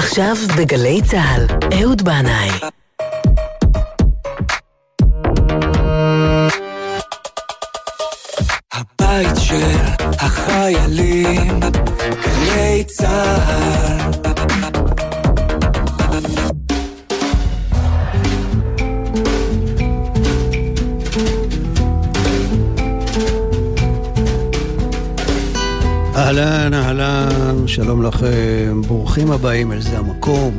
עכשיו בגלי צהל, אהוד בנאי. הבית של החיילים, גלי צהל. אהלן, אהלן, שלום לכם, ברוכים הבאים אל זה המקום.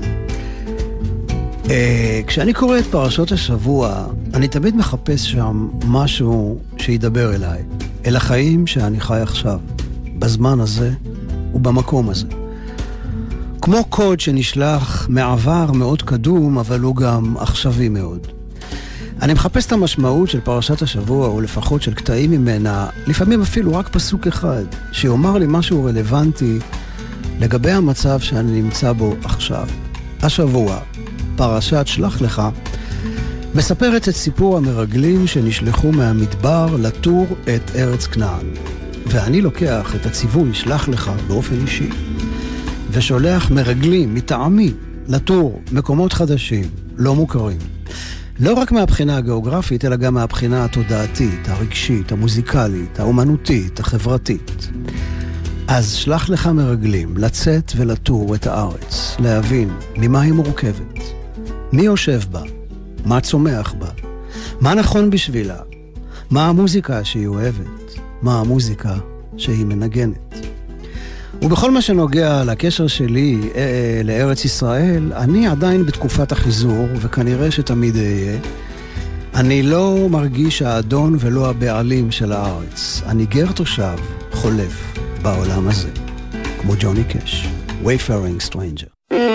כשאני קורא את פרשות השבוע, אני תמיד מחפש שם משהו שידבר אליי, אל החיים שאני חי עכשיו, בזמן הזה ובמקום הזה. כמו קוד שנשלח מעבר מאוד קדום, אבל הוא גם עכשווי מאוד. אני מחפש את המשמעות של פרשת השבוע, או לפחות של קטעים ממנה, לפעמים אפילו רק פסוק אחד, שיאמר לי משהו רלוונטי לגבי המצב שאני נמצא בו עכשיו. השבוע, פרשת שלח לך, מספרת את סיפור המרגלים שנשלחו מהמדבר לתור את ארץ כנען. ואני לוקח את הציווי שלח לך באופן אישי, ושולח מרגלים מטעמי לתור מקומות חדשים, לא מוכרים. לא רק מהבחינה הגיאוגרפית, אלא גם מהבחינה התודעתית, הרגשית, המוזיקלית, האומנותית, החברתית. אז שלח לך מרגלים לצאת ולטור את הארץ, להבין ממה היא מורכבת, מי יושב בה, מה צומח בה, מה נכון בשבילה, מה המוזיקה שהיא אוהבת, מה המוזיקה שהיא מנגנת. ובכל מה שנוגע לקשר שלי לארץ ישראל, אני עדיין בתקופת החיזור, וכנראה שתמיד אהיה. אני לא מרגיש האדון ולא הבעלים של הארץ. אני גר תושב, חולף בעולם הזה, כמו ג'וני קש, Wayfaring Stranger.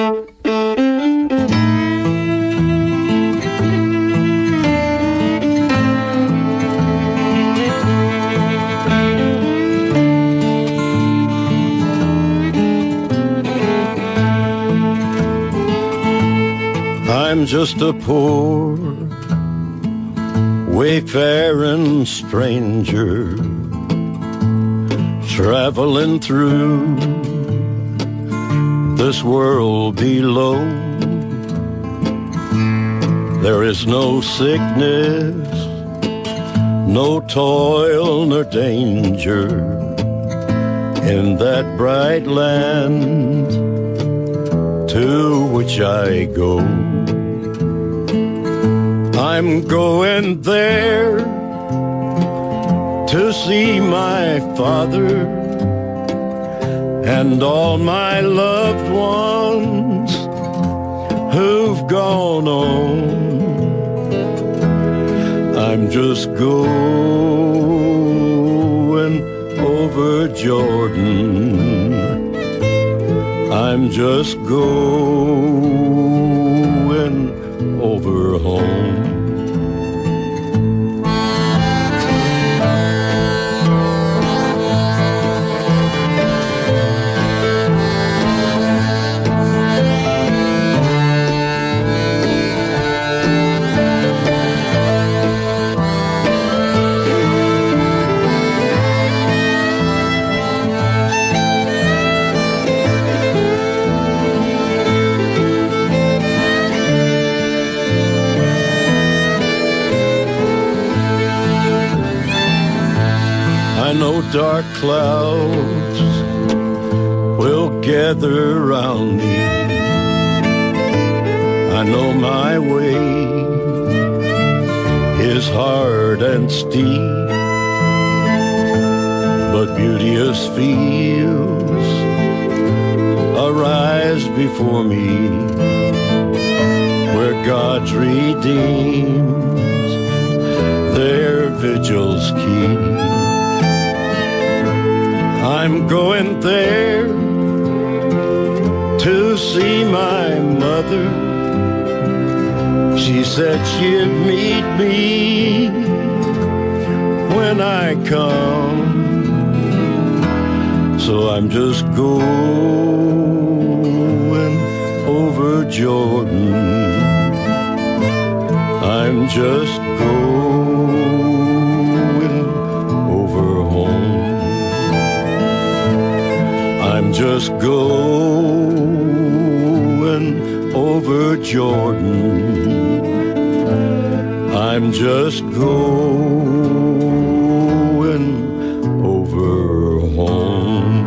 I'm just a poor, wayfaring stranger, traveling through this world below. There is no sickness, no toil nor danger in that bright land to which I go. I'm going there to see my father and all my loved ones who've gone on. I'm just going over Jordan. I'm just going over home. I know dark clouds will gather around me. I know my way is hard and steep, but beauteous fields arise before me, where God's redeemed their vigils keep. I'm going there to see my mother. She said she'd meet me when I come. So I'm just going over Jordan. I'm just going over home. I'm just going Jordan. I'm just going over home.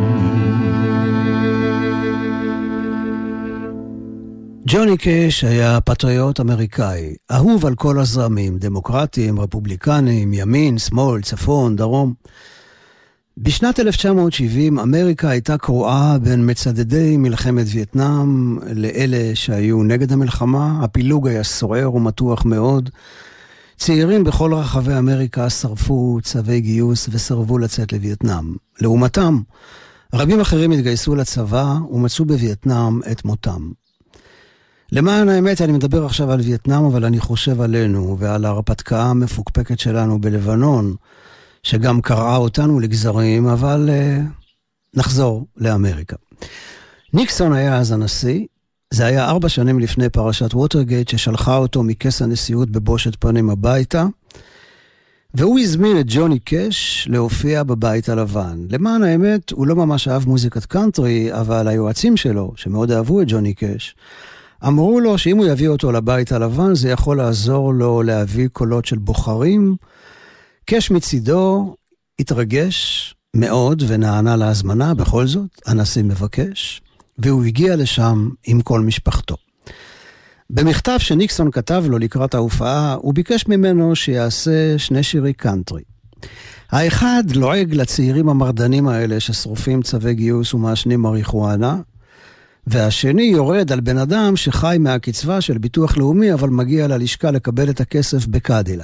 ג'וני קאש היה פטריוט אמריקאי, אהוב על כל הזרמים, דמוקרטים, רפובליקנים, ימין, שמאל, צפון, דרום. בשנת 1970 אמריקה הייתה קרועה בין מצדדי מלחמת וייטנאם לאלה שהיו נגד המלחמה. הפילוג היה סוער ומתוח מאוד. צעירים בכל רחבי אמריקה שרפו צווי גיוס וסרבו לצאת לווייטנאם. לעומתם, רבים אחרים התגייסו לצבא ומצאו בווייטנאם את מותם. למען האמת, אני מדבר עכשיו על וייטנאם, אבל אני חושב עלינו ועל ההרפתקה המפוקפקת שלנו בלבנון, שגם קרעה אותנו לגזרים, אבל נחזור לאמריקה. ניקסון היה אז הנשיא. זה היה 4 שנים לפני פרשת ווטרגייט, ששלחה אותו מכס הנשיאות בבושת פנים הביתה, והוא הזמין את ג'וני קאש להופיע בבית הלבן. למען האמת, הוא לא ממש אהב מוזיקת קאנטרי, אבל היועצים שלו, שמאוד אהבו את ג'וני קאש, אמרו לו שאם הוא יביא אותו לבית הלבן, זה יכול לעזור לו להביא קולות של בוחרים. קאש מצידו התרגש מאוד ונענה להזמנה, בכל זאת, הנשיא מבקש, והוא הגיע לשם עם כל משפחתו. במכתב שניקסון כתב לו לקראת ההופעה, הוא ביקש ממנו שיעשה 2 שירי קאנטרי. האחד לועג לצעירים המרדנים האלה ששרופים צווי גיוס ומעשנים מריחואנה, והשני יורד על בן אדם שחי מהקצבה של ביטוח לאומי, אבל מגיע ללשכה לקבל את הכסף בקדילק.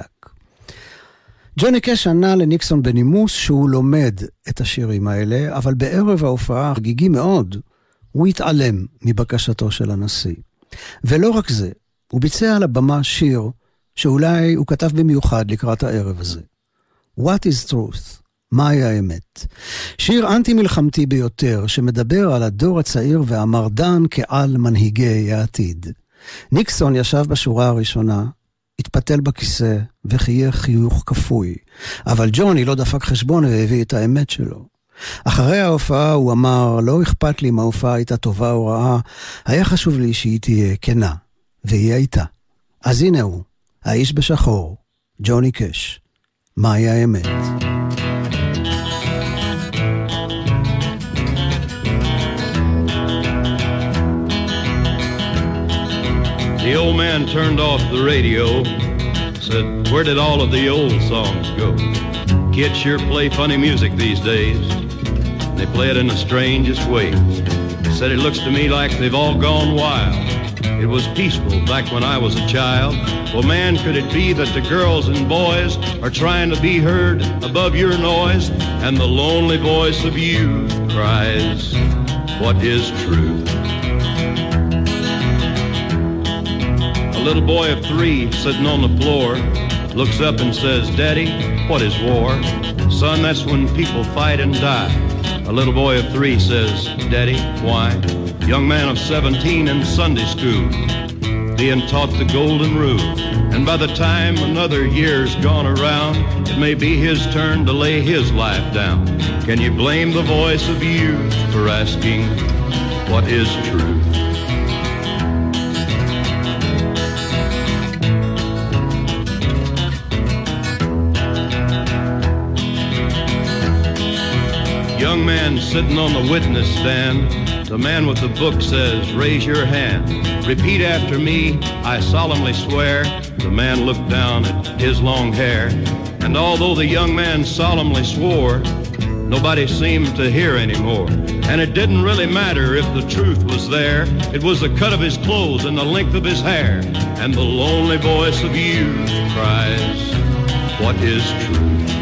ג'וני קאש ענה לניקסון בנימוס שהוא לומד את השירים האלה, אבל בערב ההופעה חגיגי מאוד, הוא התעלם מבקשתו של הנשיא. ולא רק זה, הוא ביצע על הבמה שיר שאולי הוא כתב במיוחד לקראת הערב הזה. What is truth? מהי האמת? שיר אנטי מלחמתי ביותר שמדבר על הדור הצעיר והמרדן כעל מנהיגי העתיד. ניקסון ישב בשורה הראשונה, התפתל בכיסא וחייך חיוך כפוי, אבל ג'וני לא דפק חשבון והביא את האמת שלו. אחרי ההופעה הוא אמר, לא אכפת לי אם ההופעה הייתה טובה או רעה, היה חשוב לי שהיא תהיה כנה, והיא הייתה. אז הנה הוא, האיש בשחור, ג'וני קאש. מהי האמת? The old man turned off the radio, said, where did all of the old songs go? Kids sure play funny music these days. They play it in the strangest way. Said it looks to me like they've all gone wild. It was peaceful back when I was a child. Well, man, could it be that the girls and boys are trying to be heard above your noise? And the lonely voice of youth cries, what is truth? A little boy of 3 sitting on the floor looks up and says, Daddy, what is war? Son, that's when people fight and die. A little boy of 3 says, Daddy, why? Young man of 17 in Sunday school, being taught the golden rule. And by the time another year's gone around, it may be his turn to lay his life down. Can you blame the voice of youth for asking, what is truth? Young man sitting on the witness stand, the man with the book says, raise your hand. Repeat after me, I solemnly swear. The man looked down at his long hair, and although the young man solemnly swore, nobody seemed to hear anymore. And it didn't really matter if the truth was there. It was the cut of his clothes and the length of his hair. And the lonely voice of youth cries, what is truth?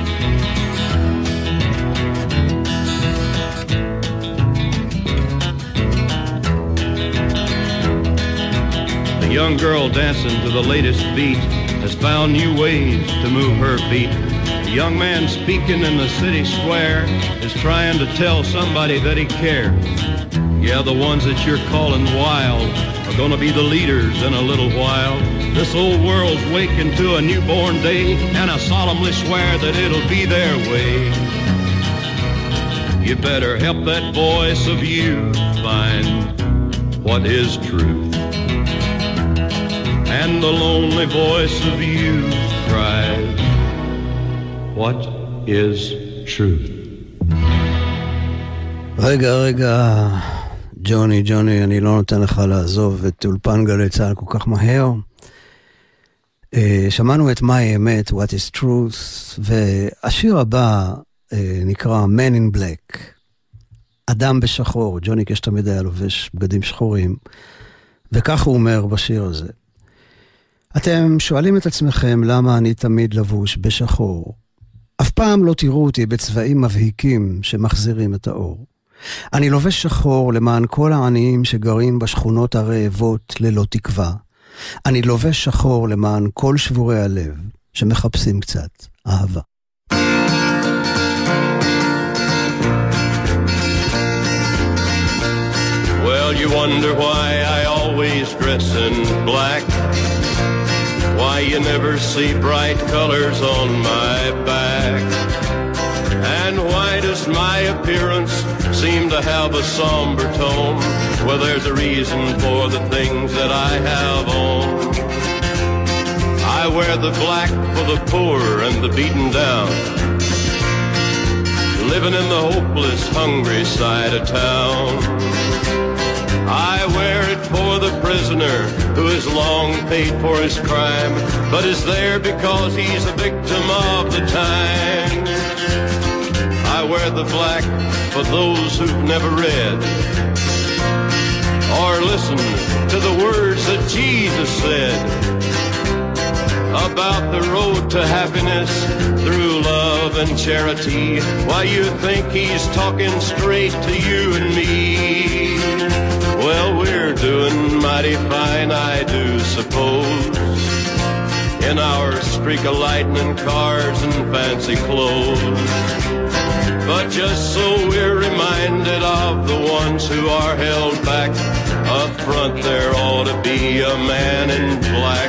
The young girl dancing to the latest beat has found new ways to move her feet. The young man speaking in the city square is trying to tell somebody that he cares. Yeah, the ones that you're calling wild are gonna be the leaders in a little while. This old world's waking to a newborn day, and I solemnly swear that it'll be their way. You better help that voice of youth find what is truth. and the lonely voice of youth cries, what is truth? רגע, ג'וני, אני לא נותן לך לעזוב את אולפן גלי צהל כל כך מהר. שמענו את מהי האמת, What is Truth, והשיר הבא נקרא Man in Black, אדם בשחור. ג'וני קש תמיד היה לובש בגדים שחורים, וכך הוא אומר בשיר הזה. אתם שואלים את עצמכם למה אני תמיד לבוש בשחור. אף פעם לא תראו אותי בצבעים מבהיקים שמחזירים את האור. אני לובש שחור למען כל העניים שגרים בשכונות הרעבות ללא תקווה. אני לובש שחור למען כל שבורי הלב שמחפשים קצת אהבה. Well, you wonder why I always dress in black, why you never see bright colors on my back, and why does my appearance seem to have a somber tone? Well, there's a reason for the things that I have on. I wear the black for the poor and the beaten down, living in the hopeless, hungry side of town. I wear it for the prisoner who has long paid for his crime, but is there because he's a victim of the times. I wear the black for those who've never read or listened to the words that Jesus said about the road to happiness through love and charity. Why, you think he's talking straight to you and me? Well, we're doing mighty fine, I do suppose, in our streak of lightning cars and fancy clothes. But just so we're reminded of the ones who are held back, up front there ought to be a man in black.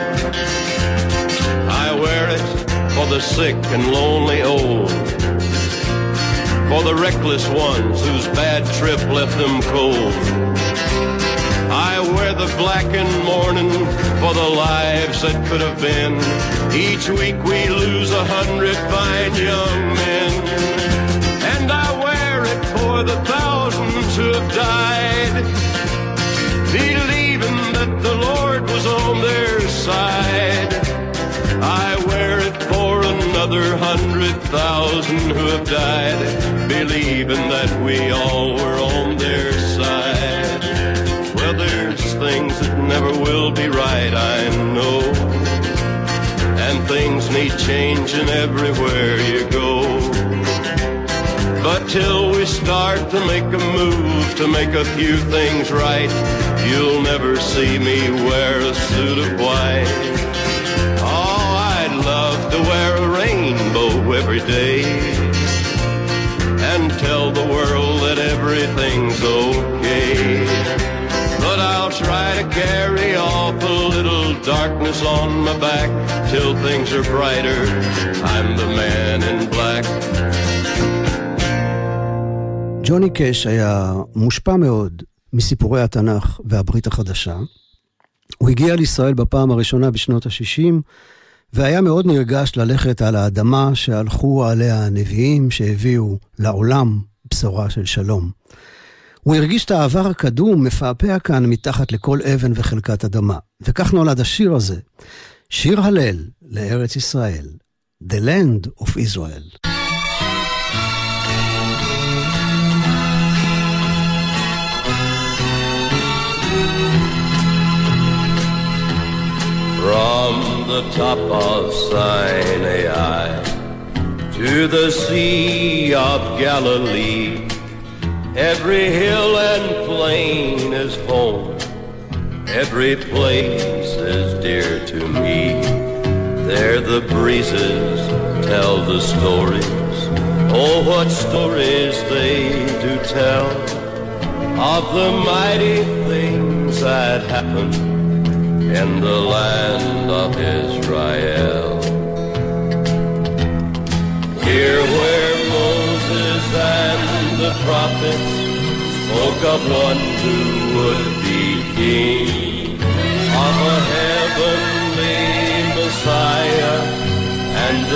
I wear it for the sick and lonely old, for the reckless ones whose bad trip left them cold. I wear the black in mourning for the lives that could have been. Each week we lose 100 fine young men. And I wear it for the thousands who have died, believing that the Lord was on their side. I wear it for another 100,000 who have died, believing that we all were on their side. Well, there's things that never will be right, I know, and things need changing everywhere you go. But till we start to make a move to make a few things right, you'll never see me wear a suit of white. Oh, I'd love to wear a rainbow every day and tell the world that everything's okay. But I'll try to carry off a little darkness on my back till things are brighter. I'm the man in black. ג'וני קש היה מושפע מאוד מסיפורי התנ"ך והברית החדשה. הוא הגיע לישראל בפעם הראשונה בשנות ה-60, והיה מאוד נרגש ללכת על האדמה שהלכו עליה הנביאים שהביאו לעולם בשורה של שלום. הוא הרגיש את העבר הקדום מפעפע כאן מתחת לכל אבן וחלקת אדמה. וכך נולד השיר הזה, שיר הלל לארץ ישראל, The Land of Israel. From the top of Sinai to the Sea of Galilee, every hill and plain is home, every place is dear to me. There the breezes tell the stories, oh what stories they do tell, of the mighty things that happened in the land of Israel. Here where Moses and the prophets spoke of one who would be king of a heaven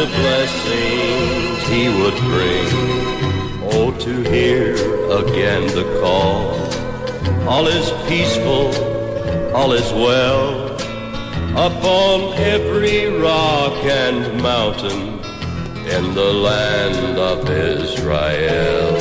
the blessings he would bring. Oh, to hear again the call, all is peaceful, all is well, upon every rock and mountain in the land of Israel.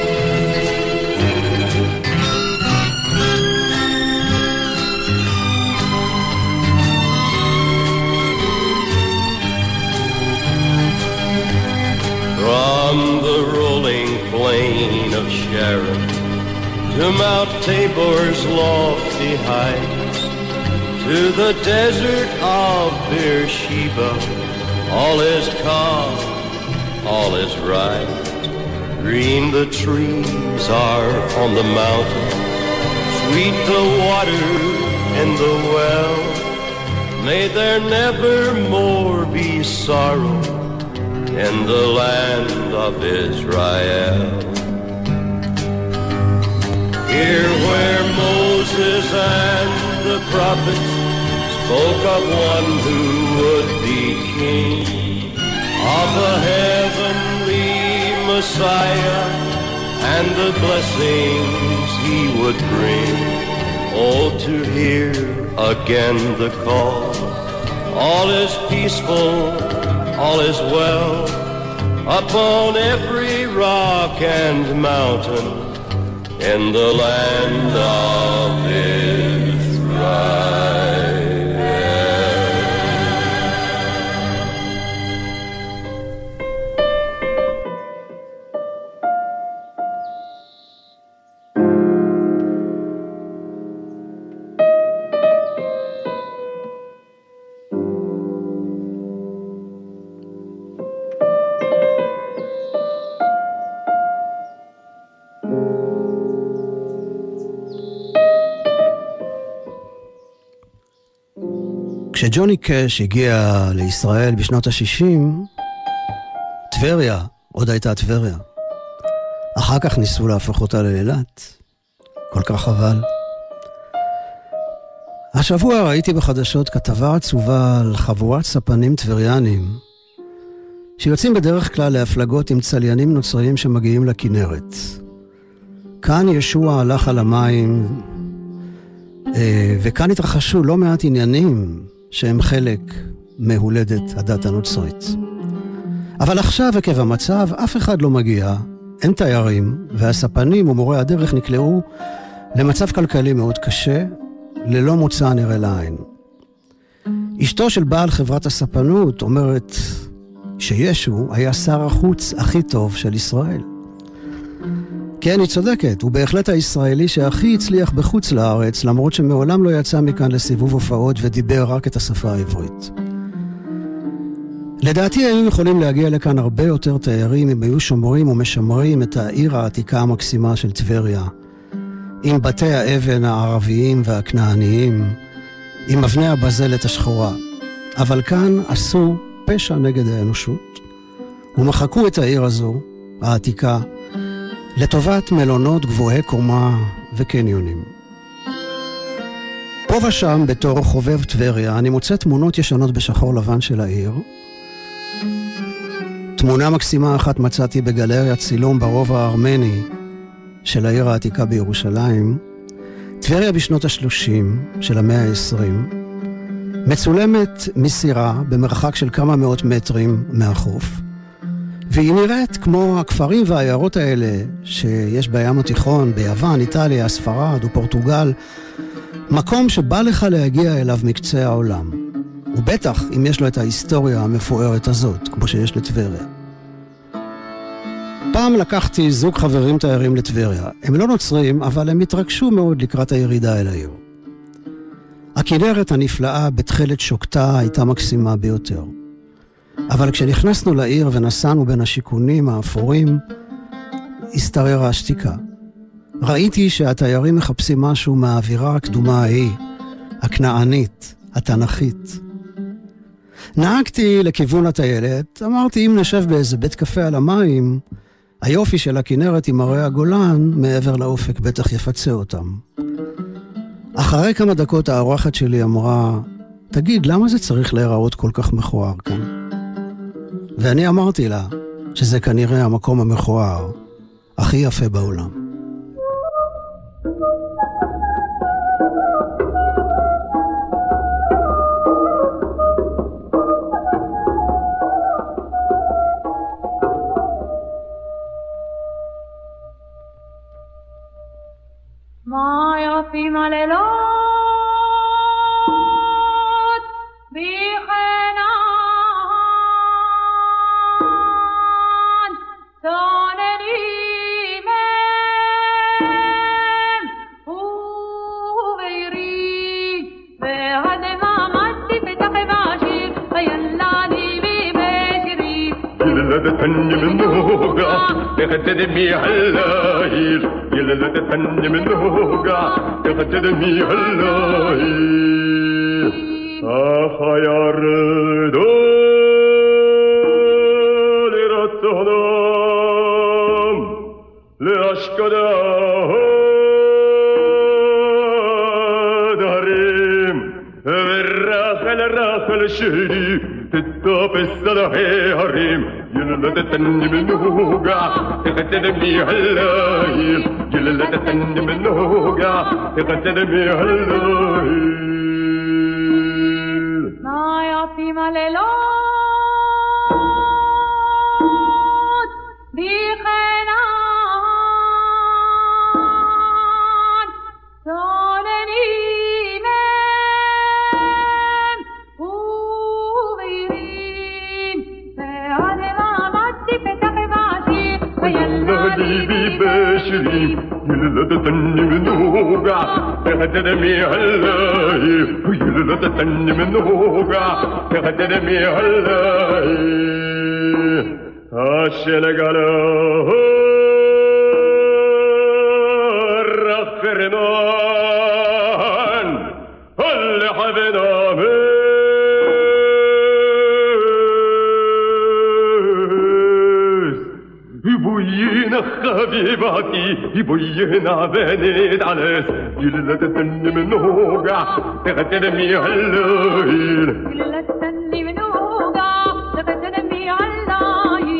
From the rolling plain of Sharon to Mount Tabor's lofty heights, to the desert of Beersheba, all is calm, all is right. Green the trees are on the mountain, sweet the water in the well. May there never more be sorrow in the land of Israel. Here where Moses and the prophets spoke of one who would be king, of a heavenly Messiah and the blessings he would bring. Oh, to hear again the call, all is peaceful, all is well, upon every rock and mountain in the land of Israel. כשג'וני קש הגיע לישראל בשנות ה-60, טבריה עוד הייתה טבריה. אחר כך ניסו להפוך אותה לאילת. כל כך חבל. השבוע ראיתי בחדשות כתבה עצובה על חבורת ספנים טבריאנים, שיוצאים בדרך כלל להפלגות עם צליינים נוצריים שמגיעים לכנרת. כאן ישוע הלך על המים, וכאן התרחשו לא מעט עניינים שהם חלק מהולדת הדת הנוצרית. אבל עכשיו עקב המצב אף אחד לא מגיע, אין תיירים, והספנים ומורי הדרך נקלעו למצב כלכלי מאוד קשה, ללא מוצא נראה לעין. אשתו של בעל חברת הספנות אומרת שישו היה שר החוץ הכי טוב של ישראל. כן, היא צודקת, הוא בהחלט הישראלי שהכי הצליח בחוץ לארץ, למרות שמעולם לא יצא מכאן לסיבוב הופעות ודיבר רק את השפה העברית. לדעתי היינו יכולים להגיע לכאן הרבה יותר תיירים אם היו שומרים ומשמרים את העיר העתיקה המקסימה של טבריה, עם בתי האבן הערביים והכנעניים, עם אבני הבזלת השחורה. אבל כאן עשו פשע נגד האנושות, ומחקו את העיר הזו, העתיקה, לטובת מלונות גבוהי קומה וקניונים. פה ושם בתור חובב טבריה אני מוצא תמונות ישנות בשחור לבן של העיר. תמונה מקסימה אחת מצאתי בגלריה צילום ברובע הארמני של העיר העתיקה בירושלים, טבריה בשנות ה-30 של המאה ה-20, מצולמת מסירה במרחק של כמה מאות מטרים מהחוף, והיא נראית כמו הכפרים והעיירות האלה שיש בים התיכון, ביוון, איטליה, ספרד ופורטוגל, מקום שבא לך להגיע אליו מקצה העולם. ובטח אם יש לו את ההיסטוריה המפוארת הזאת, כמו שיש לטבריה. פעם לקחתי זוג חברים תיירים לטבריה. הם לא נוצרים, אבל הם התרגשו מאוד לקראת הירידה אל העיר. הכנרת הנפלאה בתחילת שוקתה הייתה מקסימה ביותר. אבל כשנכנסנו לעיר ונסענו בין השיכונים האפורים, הסתררה השתיקה. ראיתי שהתיירים מחפשים משהו מהאווירה הקדומה ההיא, הכנענית, התנ"כית. נהגתי לכיוון הטיילת, אמרתי אם נשב באיזה בית קפה על המים, היופי של הכנרת עם הרי הגולן מעבר לאופק בטח יפצה אותם. אחרי כמה דקות האורחת שלי אמרה, תגיד, למה זה צריך להיראות כל כך מכוער כאן? ואני אמרתי לה שזה כנראה המקום המכוער הכי יפה בעולם. מה יפים הלילות בחנן צוננים הם ובעירי והדממתי פתח בשיר וילני בשירי يلدتني من نوقع تقتدمي هاللايل يلدتني من نوقع تقتدمي هاللايل يا ردول رتهنم لأشكده دهريم الراخل الشهري تتوبس صلاحي هريم يلدتني من نوقع تقتدمي هاللايل يلدتني من نوقع تقتدمي هاللايل ما يفيم اليلود بخنان صونني مم وبيرين فعدمامتي فتح بعشير ويلدي ببشري يلدتني من نوقع تقتدمي هاللايل يلدتني من نوقع تقتدمي هاللايل عشان قالوا الرخرمان اللي حبنا يبوينا حبيباتي يبوينا بنيت عليس يلدتني من نوقع تقتدمي هاللايل يلدتني من نوقع تقتدمي هاللايل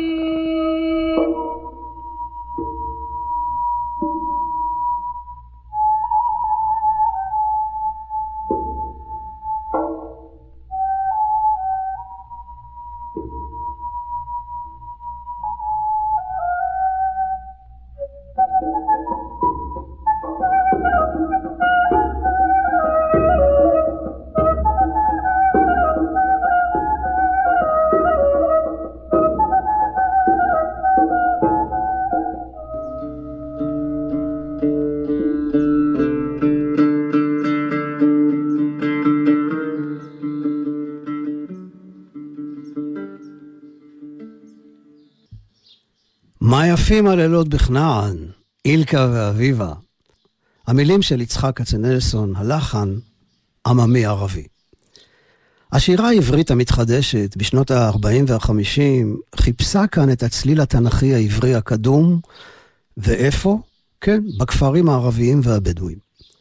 מה יפים הלילות בכנען, אילקה ואביבה. המילים של יצחק כצנלסון, הלחן עממי ערבי. השירה העברית המתחדשת בשנות ה-40 וה-50 חיפשה כאן את הצליל התנכי העברי הקדום, ואיפה? כן, בכפרים הערביים והבדואים.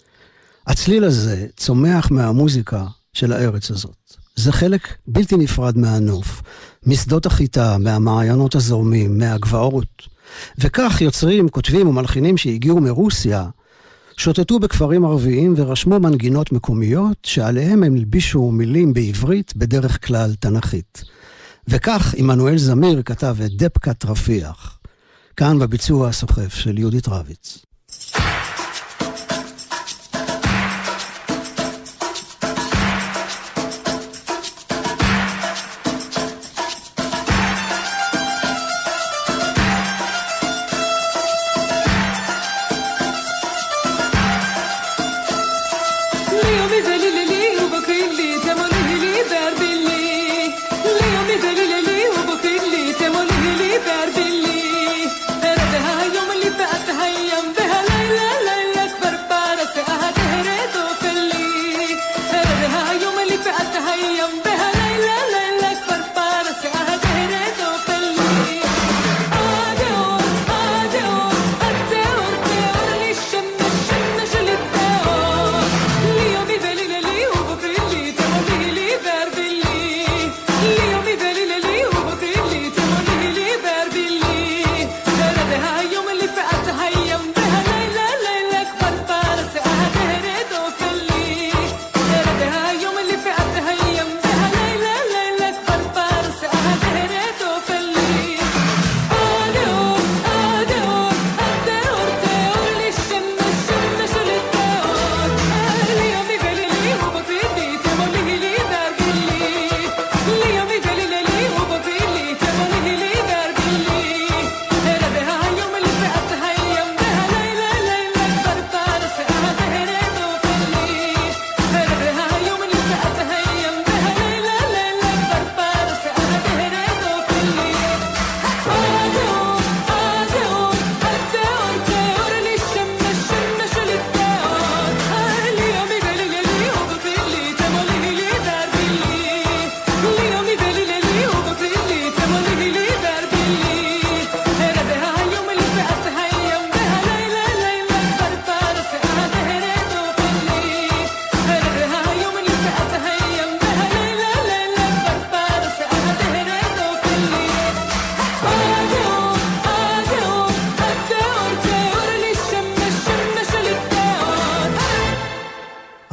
הצליל הזה צומח מהמוזיקה של הארץ הזאת. זה חלק בלתי נפרד מהנוף, משדות החיטה, מהמעיינות הזורמים, מהגבעות. וכך יוצרים, כותבים ומלחינים שהגיעו מרוסיה, שוטטו בכפרים ערביים ורשמו מנגינות מקומיות שעליהם הם הלבישו מילים בעברית בדרך כלל תנכית. וכך עמנואל זמיר כתב את דבקת רפיח, כאן בביצוע הסוחף של יהודית רביץ. يوم اللي فات هيم بها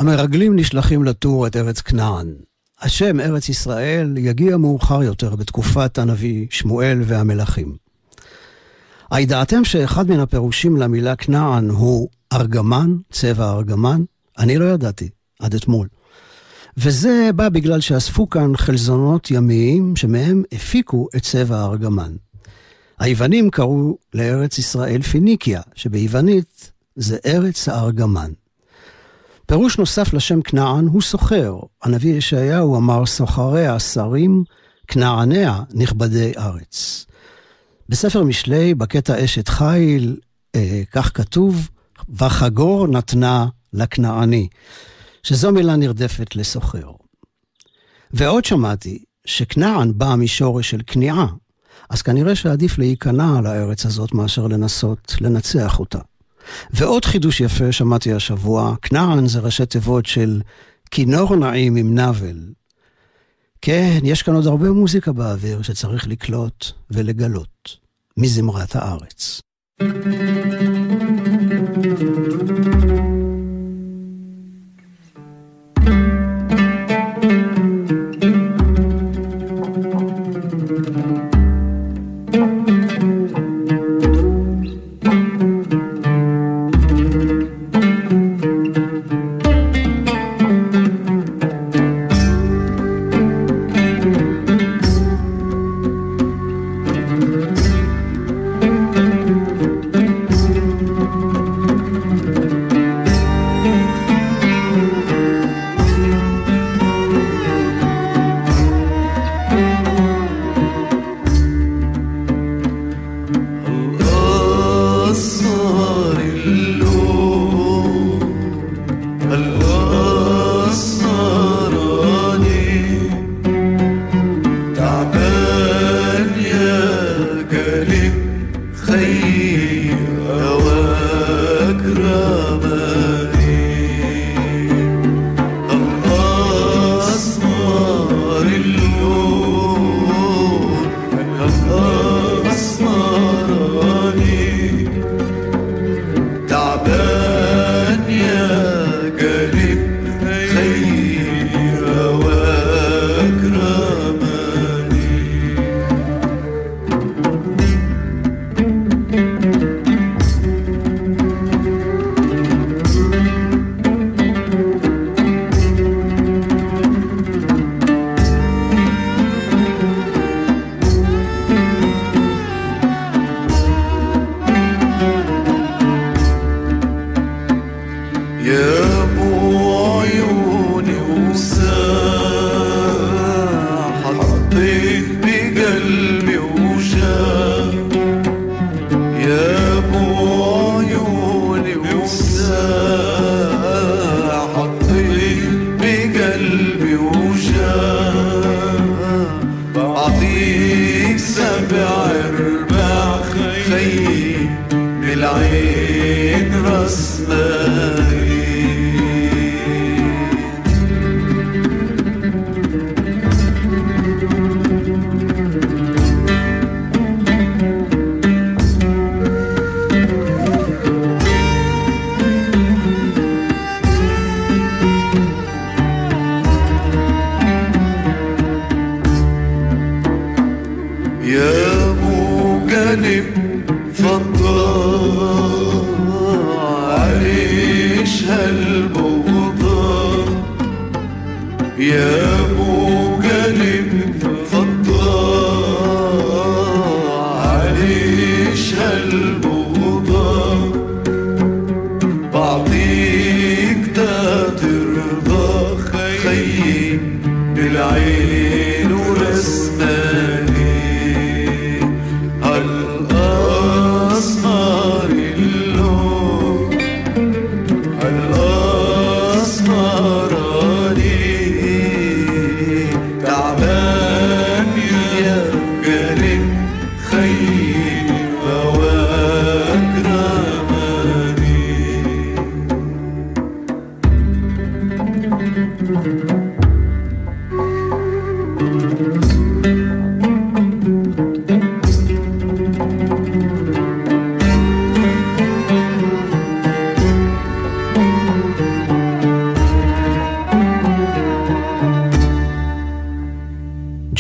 המרגלים נשלחים לתור את ארץ כנען. השם ארץ ישראל יגיע מאוחר יותר בתקופת הנביא שמואל והמלכים. הידעתם שאחד מן הפירושים למילה כנען הוא ארגמן, צבע ארגמן? אני לא ידעתי, עד אתמול. וזה בא בגלל שאספו כאן חלזונות ימיים שמהם הפיקו את צבע הארגמן. היוונים קראו לארץ ישראל פיניקיה, שביוונית זה ארץ הארגמן. פירוש נוסף לשם כנען הוא סוחר. הנביא ישעיהו אמר סוחריה שרים, כנעניה נכבדי ארץ. בספר משלי, בקטע אשת חיל, כך כתוב, וחגור נתנה לכנעני, שזו מילה נרדפת לסוחר. ועוד שמעתי שכנען בא משורש של כניעה, אז כנראה שעדיף להיכנע על הארץ הזאת מאשר לנסות לנצח אותה. ועוד חידוש יפה שמעתי השבוע, כנען זה ראשי תיבות של כינור נעים עם נבל. כן, יש כאן עוד הרבה מוזיקה באוויר שצריך לקלוט ולגלות מזמרת הארץ.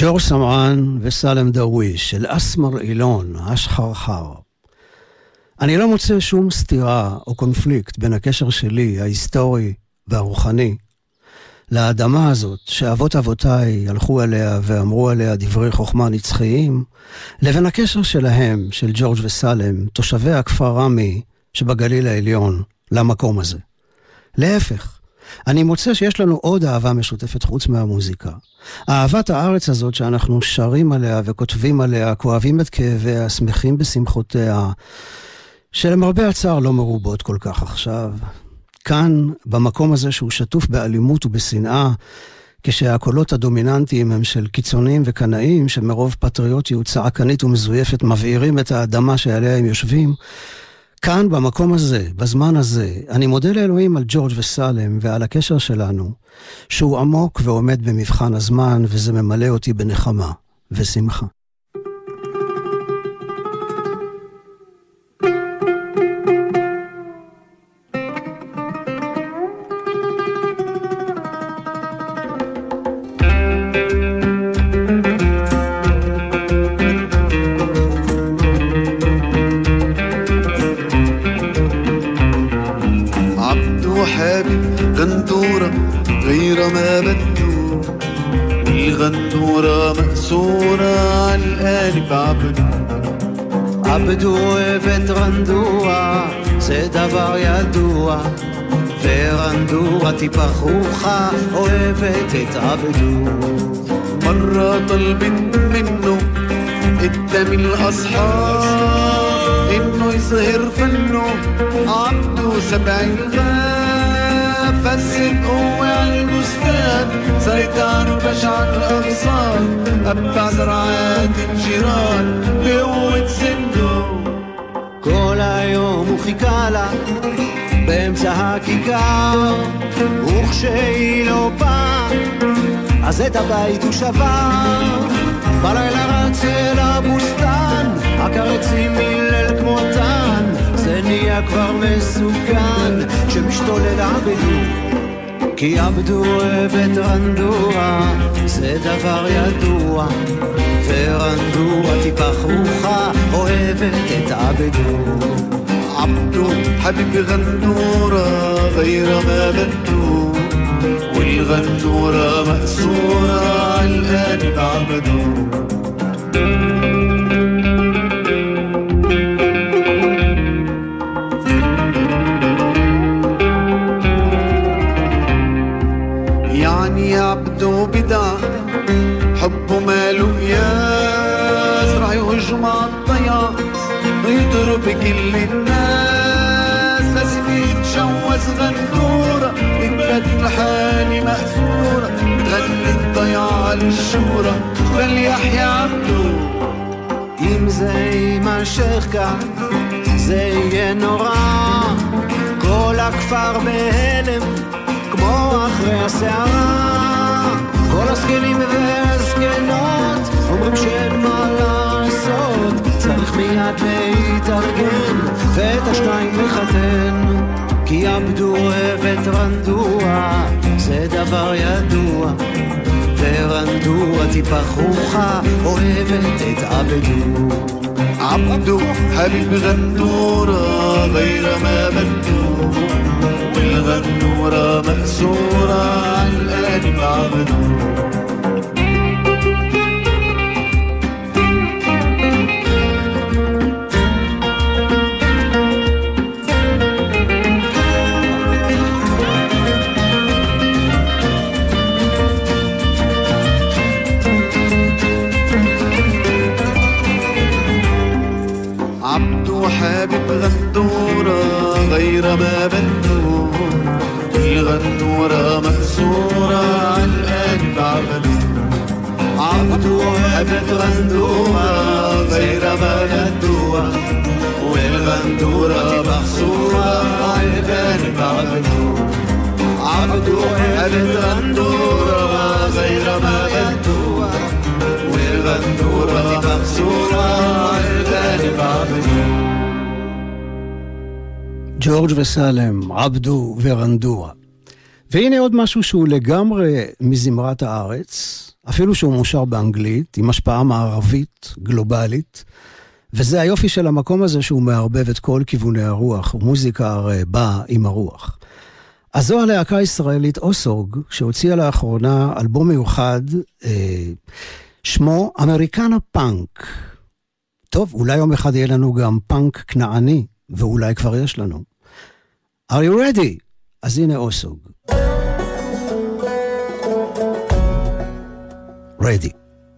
ג'ורג' סמרן וסלם דרוויש של אסמר אילון, השחרחר. אני לא מוצא שום סתירה או קונפליקט בין הקשר שלי, ההיסטורי והרוחני, לאדמה הזאת שאבות אבותיי הלכו עליה ואמרו עליה דברי חוכמה נצחיים, לבין הקשר שלהם, של ג'ורג' וסלם, תושבי הכפר רמי שבגליל העליון, למקום הזה. להפך, אני מוצא שיש לנו עוד אהבה משותפת חוץ מהמוזיקה. אהבת הארץ הזאת שאנחנו שרים עליה וכותבים עליה, כואבים את כאביה, שמחים בשמחותיה, שלמרבה הצער לא מרובות כל כך עכשיו. כאן, במקום הזה שהוא שטוף באלימות ובשנאה, כשהקולות הדומיננטיים הם של קיצונים וקנאים, שמרוב פטריוטיות צעקנית ומזויפת מבעירים את האדמה שעליה הם יושבים, כאן, במקום הזה, בזמן הזה, אני מודה לאלוהים על ג'ורג' וסלם ועל הקשר שלנו, שהוא עמוק ועומד במבחן הזמן, וזה ממלא אותי בנחמה ושמחה. עבדו אוהבת רנדוע, זה דבר ידוע, ורנדוע תפחוחה, אוהבת את עבדו. مرة طلبت منه قدام الأصحاب إنه يظهر فنه، عبده سبع الغاب فسد قوة على البستان، سيطر بشع الأغصان، أبع زرعات الجيران بقوة سنه. כל היום הוא חיכה לה באמצע הכיכר, וכשהיא לא באה אז את הבית הוא שבר. בלילה רץ אל הבוסתן, הקרצים מילל כמותן, זה נהיה כבר מסוכן כשמשתולל עבדו, כי עבדו אוהבת רנדוע, זה דבר ידוע, ורנדוע תפחוחה, אוהבת את עבדו. عبدو حبيب غنورة غير ما بدو، والغنورة مأسورة عالقلب عبدو. يعني عبدو بدع حبه ماله قياس، راح يهجم عالضياع يضرب كل الناس، لازم يتجوز غنورة يتبدل حالي مأسورة، تغني الضياع للشورى فليحيى عبدو. אם זה יימשך כך זה יהיה נורא, כל הכפר בהלם כמו אחרי הסערה, כל הסגלים והסגנות אומרים שאין מה לעשות, צריך מיד להתארגן ואת השניים לחתן, כי עבדו אוהבת רנדוע, זה דבר ידוע, ורנדוע תפחוחה, אוהבת את עבדו. عبدو حبيب غنورة غير ما بدو، والغنورة مأسورة عالقلب عبدو. حبيب غندورة غير ما بدو، الغندورة مأسورة عالقلب عبدو. عبدو حبيب غندورة غير ما بدو، والغندورة مأسورة عالقلب عبدو. عبدو حبيب غندورة غير ما بدو، والغندورة مأسورة عالقلب عبدو. ג'ורג' וסלם, עבדו ורנדוע. והנה עוד משהו שהוא לגמרי מזמרת הארץ, אפילו שהוא מושר באנגלית, עם השפעה מערבית, גלובלית, וזה היופי של המקום הזה שהוא מערבב את כל כיווני הרוח, ומוזיקה הרי באה עם הרוח. אז זו הלהקה הישראלית אוסורג, שהוציאה לאחרונה אלבום מיוחד, שמו אמריקנה פאנק. טוב, אולי יום אחד יהיה לנו גם פאנק כנעני, ואולי כבר יש לנו. Are you ready? אז הנה אוסורג. Ready.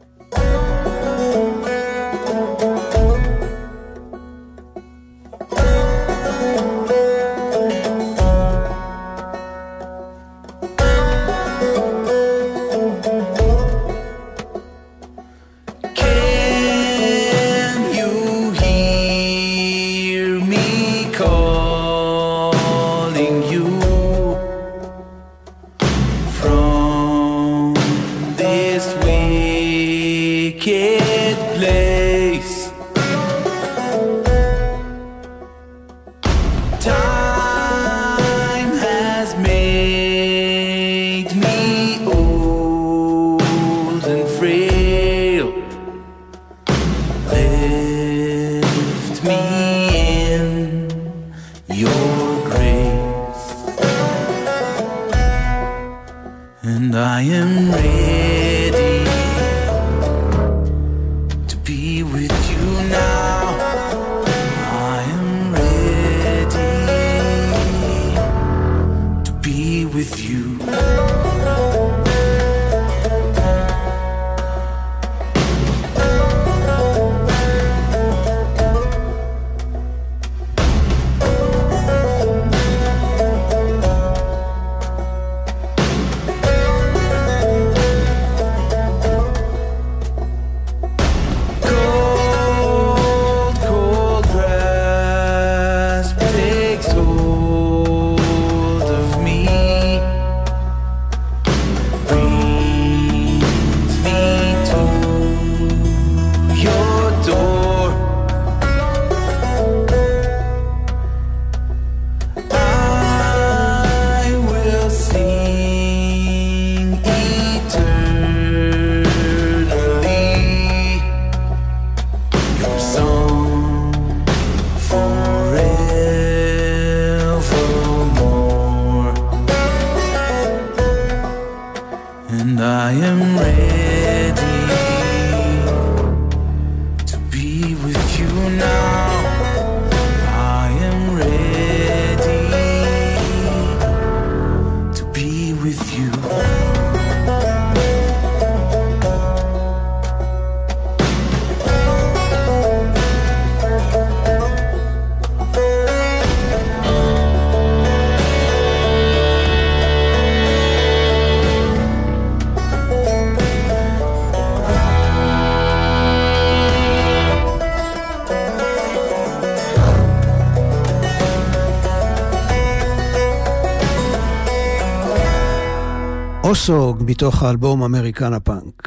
אוסורג מתוך האלבום אמריקנה פאנק.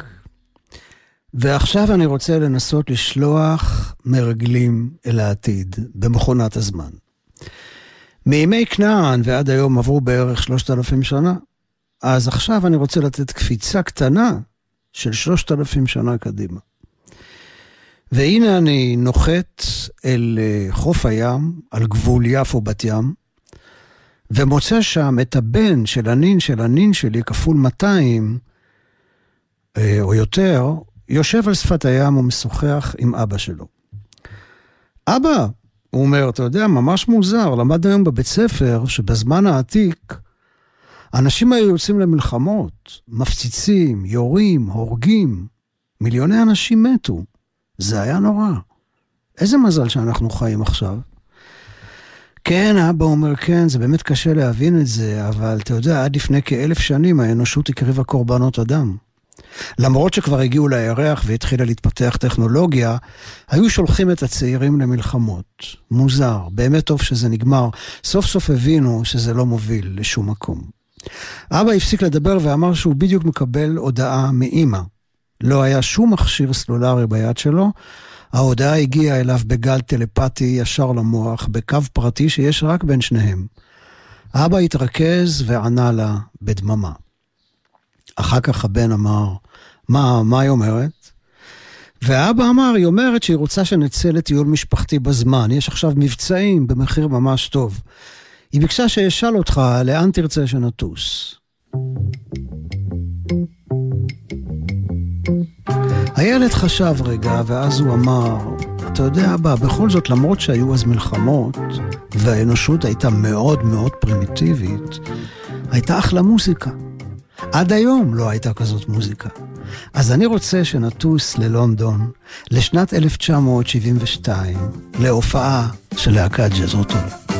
ועכשיו אני רוצה לנסות לשלוח מרגלים אל העתיד במכונת הזמן. מימי כנען ועד היום עברו בערך 3,000 שנה, אז עכשיו אני רוצה לתת קפיצה קטנה של 3,000 שנה קדימה. והנה אני נוחת אל חוף הים, על גבול יפו בת ים, ומוצא שם את הבן של הנין שלי, כפול 200, או יותר, יושב על שפת הים ומשוחח עם אבא שלו. אבא, הוא אומר, אתה יודע, ממש מוזר, למד היום בבית ספר, שבזמן העתיק, אנשים היו יוצאים למלחמות, מפציצים, יורים, הורגים, מיליוני אנשים מתו. זה היה נורא. איזה מזל שאנחנו חיים עכשיו. כן, אבא אומר, כן, זה באמת קשה להבין את זה, אבל אתה יודע, עד לפני כ1,000 שנים האנושות הקריבה קורבנות אדם. למרות שכבר הגיעו לירח והתחילה להתפתח טכנולוגיה, היו שולחים את הצעירים למלחמות. מוזר, באמת טוב שזה נגמר. סוף סוף הבינו שזה לא מוביל לשום מקום. אבא הפסיק לדבר ואמר שהוא בדיוק מקבל הודעה מאמא. לא היה שום מכשיר סלולרי ביד שלו, ההודעה הגיעה אליו בגל טלפתי ישר למוח, בקו פרטי שיש רק בין שניהם. אבא התרכז וענה לה בדממה. אחר כך הבן אמר, מה היא אומרת? והאבא אמר, היא אומרת שהיא רוצה שנצא לטיול משפחתי בזמן, יש עכשיו מבצעים במחיר ממש טוב. היא ביקשה שישאל אותך לאן תרצה שנטוס. הילד חשב רגע, ואז הוא אמר, אתה יודע אבא, בכל זאת למרות שהיו אז מלחמות, והאנושות הייתה מאוד מאוד פרימיטיבית, הייתה אחלה מוזיקה. עד היום לא הייתה כזאת מוזיקה. אז אני רוצה שנטוס ללונדון, לשנת 1972, להופעה של להקת ג'זרוטו.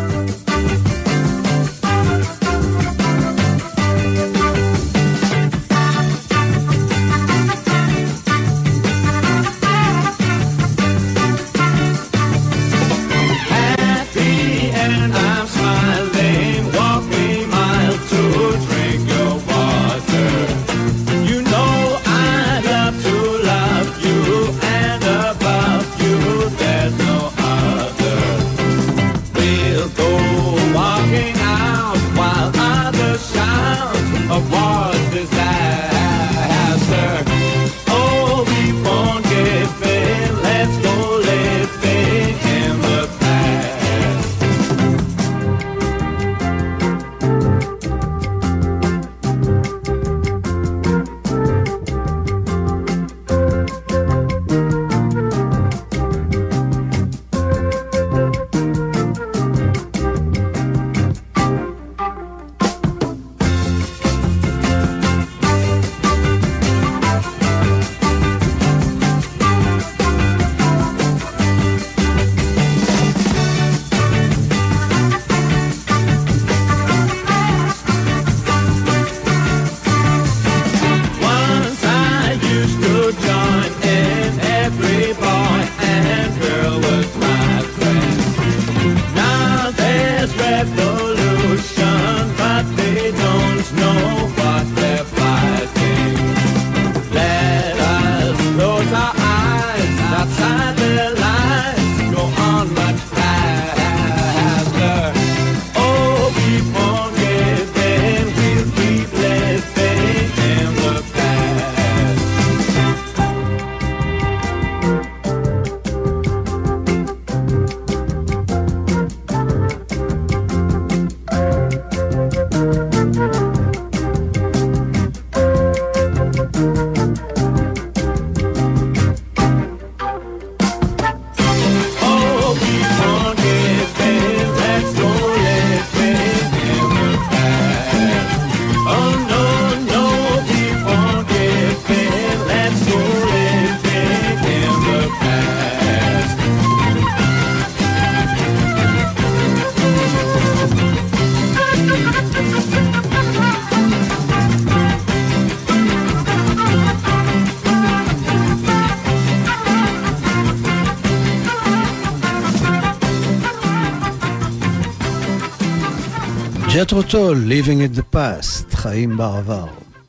ג'ת'רו טול, Living in the Past, חיים בעבר.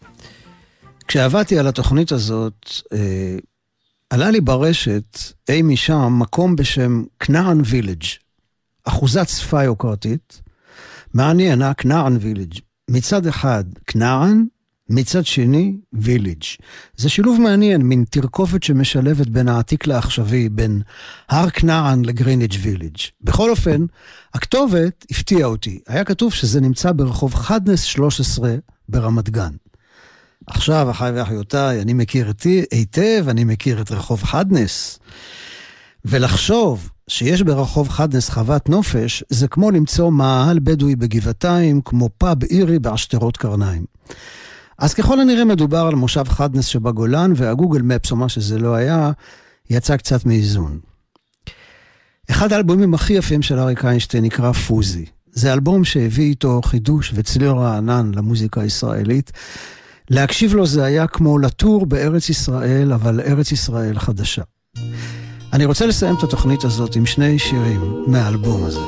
כשעבדתי על התוכנית הזאת, עלה לי ברשת, אי משם, מקום בשם כנען וילג', אחוזת שפה יוקרתית, מעניין, כנען וילג'. מצד אחד כנען, מצד שני וילג'. זה שילוב מעניין, מין תרכופת שמשלבת בין העתיק לעכשווי, בין הר כנען לגריניג' וילג'. בכל אופן, הכתובת הפתיעה אותי. היה כתוב שזה נמצא ברחוב חדנס 13 ברמת גן. עכשיו, אחי ואחיותיי, אני מכיר היטב, אני מכיר את רחוב חדנס. ולחשוב שיש ברחוב חדנס חוות נופש, זה כמו למצוא מאהל בדואי בגבעתיים, כמו פאב אירי בעשתרות קרניים. אז ככל הנראה מדובר על מושב חדנס שבגולן, והגוגל מפס, או מה שזה לא היה, יצא קצת מאיזון. אחד האלבומים הכי יפים של אריק איינשטיין נקרא פוזי. זה אלבום שהביא איתו חידוש וצליל רענן למוזיקה הישראלית. להקשיב לו זה היה כמו לטור בארץ ישראל, אבל ארץ ישראל חדשה. אני רוצה לסיים את התוכנית הזאת עם שני שירים מהאלבום הזה.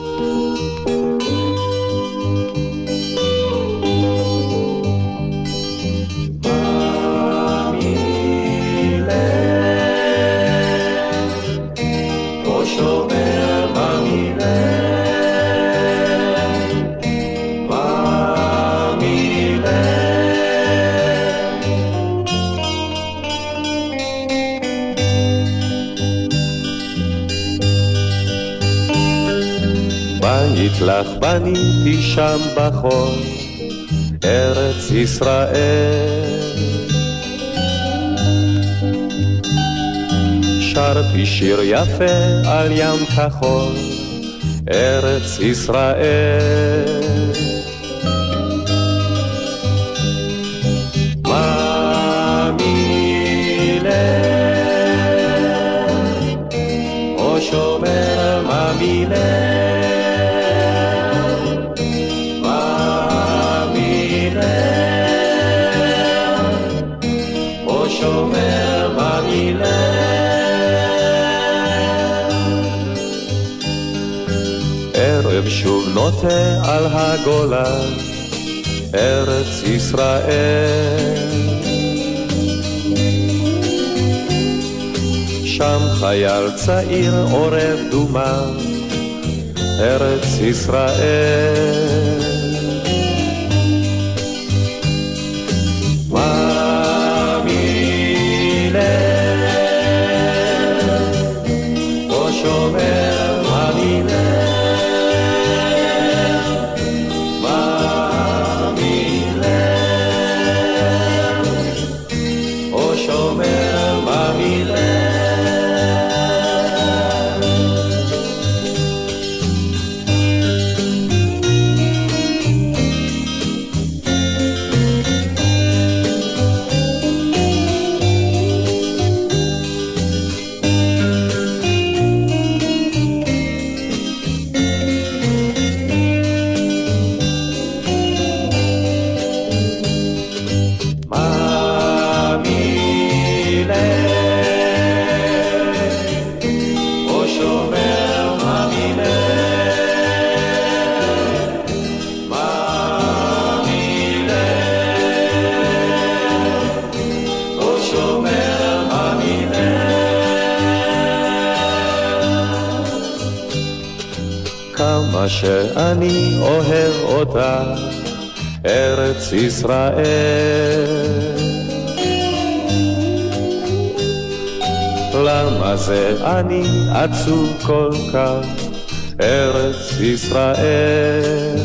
לך בניתי שם בחול, ארץ ישראל. שרתי שיר יפה על ים כחול, ארץ ישראל. שומר ממילה ממילה או שומר ממילה ערב שוב נוטה על הגולה ארץ ישראל שם חייל צעיר עורב דומה, ארץ ישראל. ממילה, או שומר ממילה, ממילה, או שומר ממילה. כמה שאני אוהב אותה, ארץ ישראל. למה זה אני עצוב כל כך, ארץ ישראל.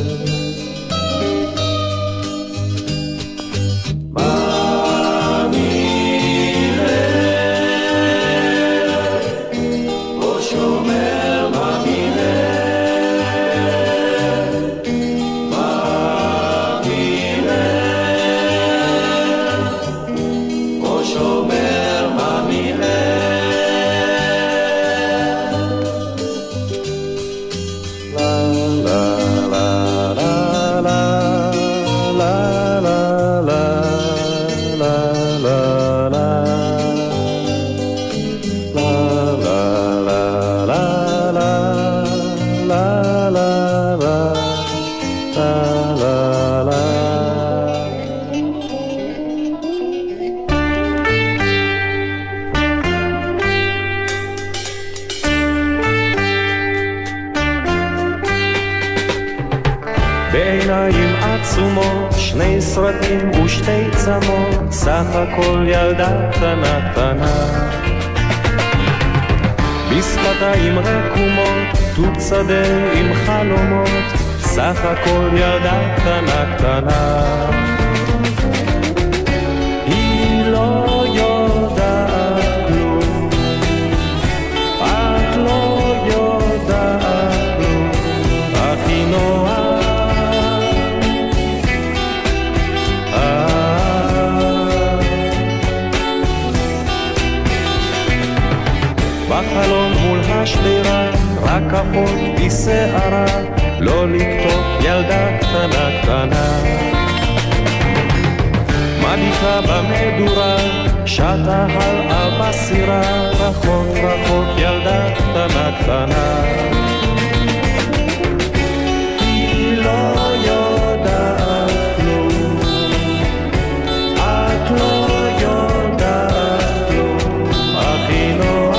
בעיניים עצומות, שני סרטים ושתי צמות, סך הכל ילדה קטנה קטנה. בשפתיים רקומות, תות שדה עם חלומות, סך הכל ילדה קטנה קטנה. היא לא יודעת כלום, את לא יודעת כלום, אך היא נועה. בחלון מול השדרה, רק כפות בשערה, לא לקטוף ילדה קטנה קטנה. מדיקה במדורה, שתה על בסירה, רחוק רחוק ילדה קטנה קטנה. היא לא יודעת כלום, את לא יודעת כלום, אך היא נועה.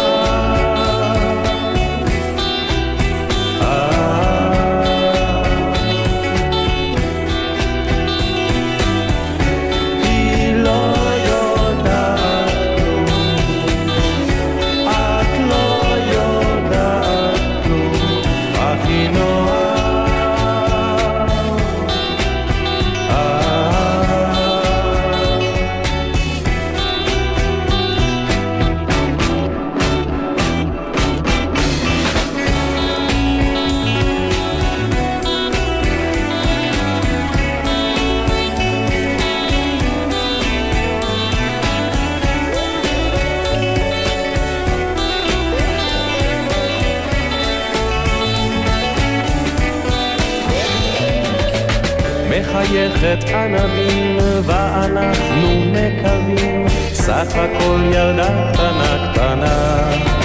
מחייכת ענבים ואנחנו מקווים סך הכל ילדה קטנה קטנה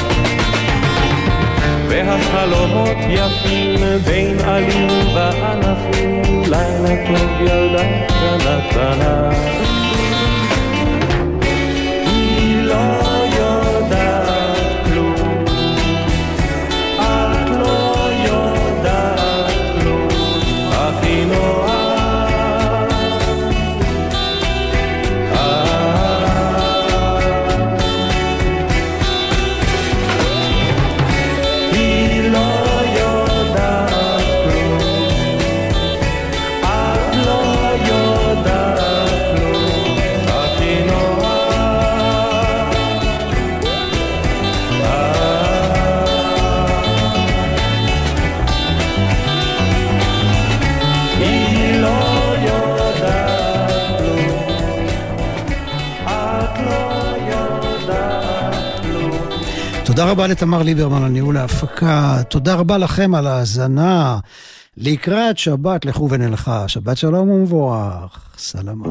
והחלומות יפים בין עלים וענפים לילה טוב ילדה קטנה קטנה היא לא יודעת כלום את לא יודעת כלום הכי נורא תודה רבה לתמר ליברמן על ניהול ההפקה, תודה רבה לכם על ההאזנה. לקראת שבת לכו ונלכה, שבת שלום ומבורך, סלמה.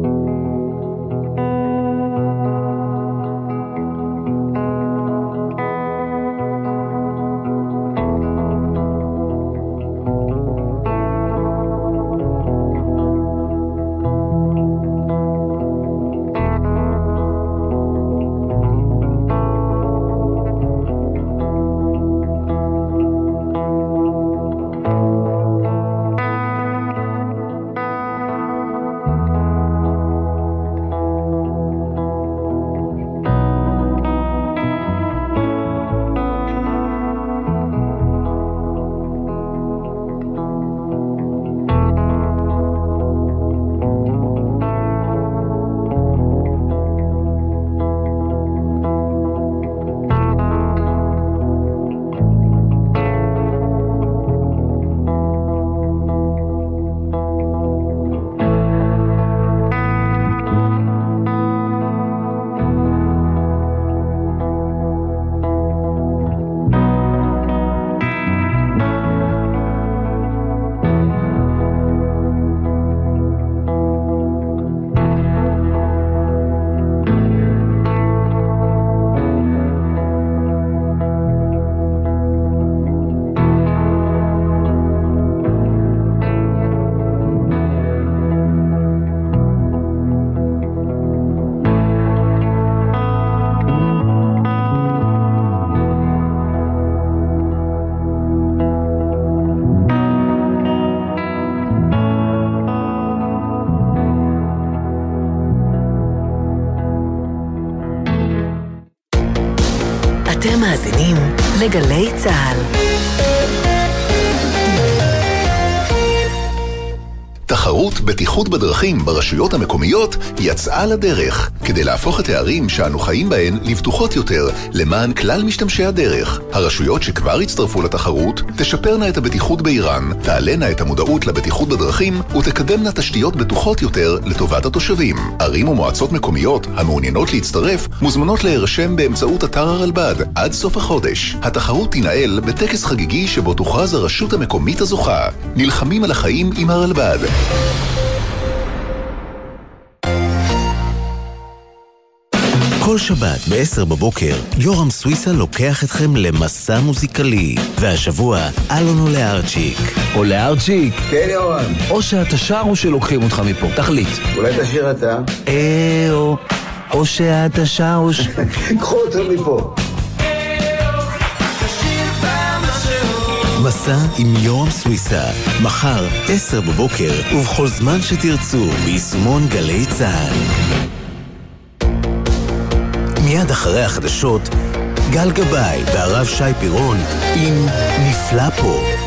אתם מאזינים לגלי צהל. תחרות בטיחות בדרכים ברשויות המקומיות יצאה לדרך כדי להפוך את הערים שאנו חיים בהן לבטוחות יותר למען כלל משתמשי הדרך. הרשויות שכבר הצטרפו לתחרות תשפרנה את הבטיחות בעירן, תעלנה את המודעות לבטיחות בדרכים ותקדמנה תשתיות בטוחות יותר לטובת התושבים. ערים ומועצות מקומיות המעוניינות להצטרף מוזמנות להירשם באמצעות אתר הרלב"ד עד סוף החודש. התחרות תנהל בטקס חגיגי שבו תוכרז הרשות המקומית הזוכה. נלחמים על החיים עם הרלב"ד. כל שבת ב-10 בבוקר יורם סוויסה לוקח אתכם למסע מוזיקלי, והשבוע אלונו לארצ'יק. או לארצ'יק? כן יורם. או שאתה שר או שלוקחים אותך מפה, תחליט. אולי תשאיר אתה? או שאתה שר או קחו אותו מפה. מסע עם יורם סוויסה, מחר 10 בבוקר ובכל זמן שתרצו ביישומון גלי צהל. מיד אחרי החדשות, גל גבאי והרב שי פירון עם נפלא פה.